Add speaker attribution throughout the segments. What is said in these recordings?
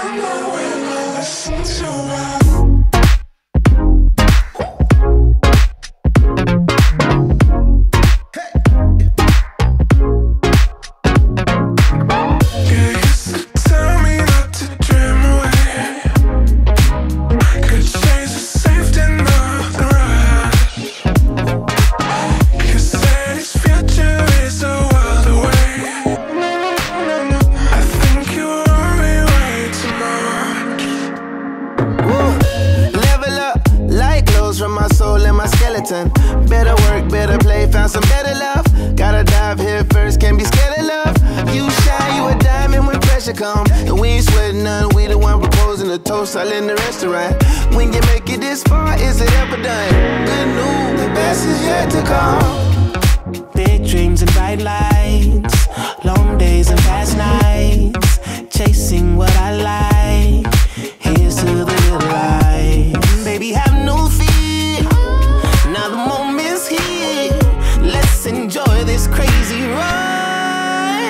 Speaker 1: Better work, better play, found some better love. Gotta dive head first, can't be scared of love. You shine, you a diamond when pressure come. And we ain't sweating none, we the one proposing a toast all in the restaurant. When you make it this far, is it ever done? Good news, the best is yet to come.
Speaker 2: Big dreams and bright lights, long days and fast nights, chasing what I like. Here's to the little light. Baby, have no fear. Now the moment's here. Let's enjoy this crazy ride.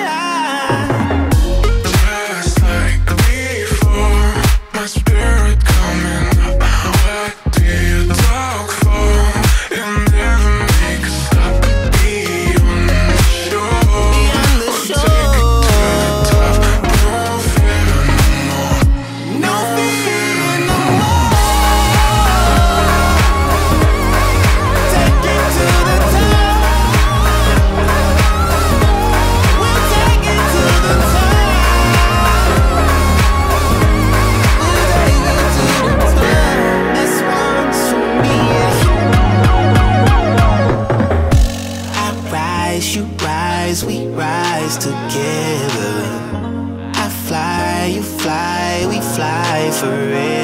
Speaker 3: Just like before, my spirit coming up. What do you talk for? It never makes us stop. Be on the shore.
Speaker 2: Beyond the shore.
Speaker 3: Take it to the top. No fear no more.
Speaker 2: No fear no more. We rise together. I fly, you fly, we fly forever.